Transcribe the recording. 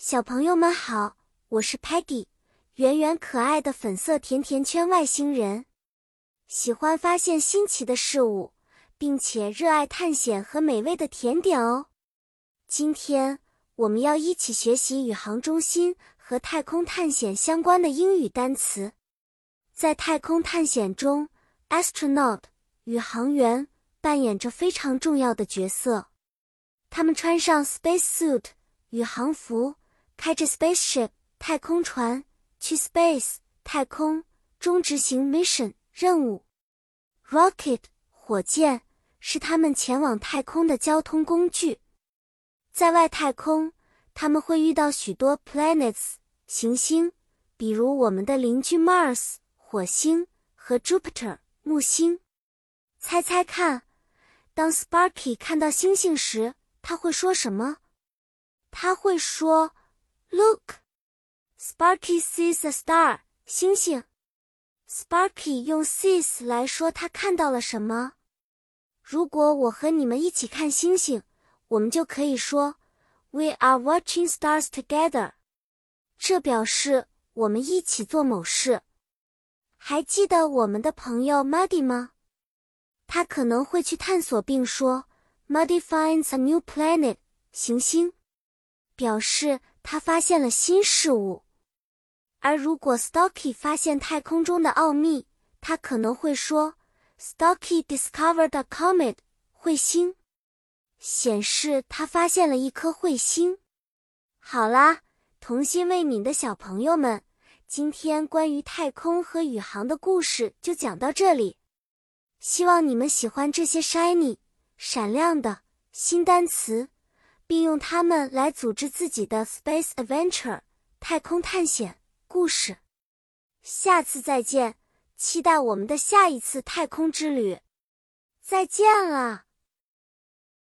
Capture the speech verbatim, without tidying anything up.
小朋友们好，我是 Peggy， 圆圆可爱的粉色甜甜圈外星人。喜欢发现新奇的事物，并且热爱探险和美味的甜点哦。今天我们要一起学习宇航中心和太空探险相关的英语单词。在太空探险中 ，astronaut 宇航员扮演着非常重要的角色。他们穿上 space suit 宇航服，开着 spaceship 太空船，去 space 太空中执行 mission 任务。Rocket 火箭是他们前往太空的交通工具。在外太空，他们会遇到许多 planets 行星，比如我们的邻居 Mars 火星和 Jupiter 木星。猜猜看，当 Sparky 看到星星时，他会说什么？他会说 Look! Sparky sees a star, 星星。Sparky 用 sees 来说他看到了什么。如果我和你们一起看星星，我们就可以说 We are watching stars together. 这表示我们一起做某事。还记得我们的朋友 Muddy 吗？他可能会去探索并说 Muddy finds a new planet, 行星，表示他发现了新事物。而如果 Stocky 发现太空中的奥秘，他可能会说 Stocky discovered a comet, 彗星，显示他发现了一颗彗星。好啦，童心未泯的小朋友们，今天关于太空和宇航的故事就讲到这里。希望你们喜欢这些 shiny 闪亮的新单词，并用它们来组织自己的 space adventure 太空探险故事。下次再见，期待我们的下一次太空之旅。再见了。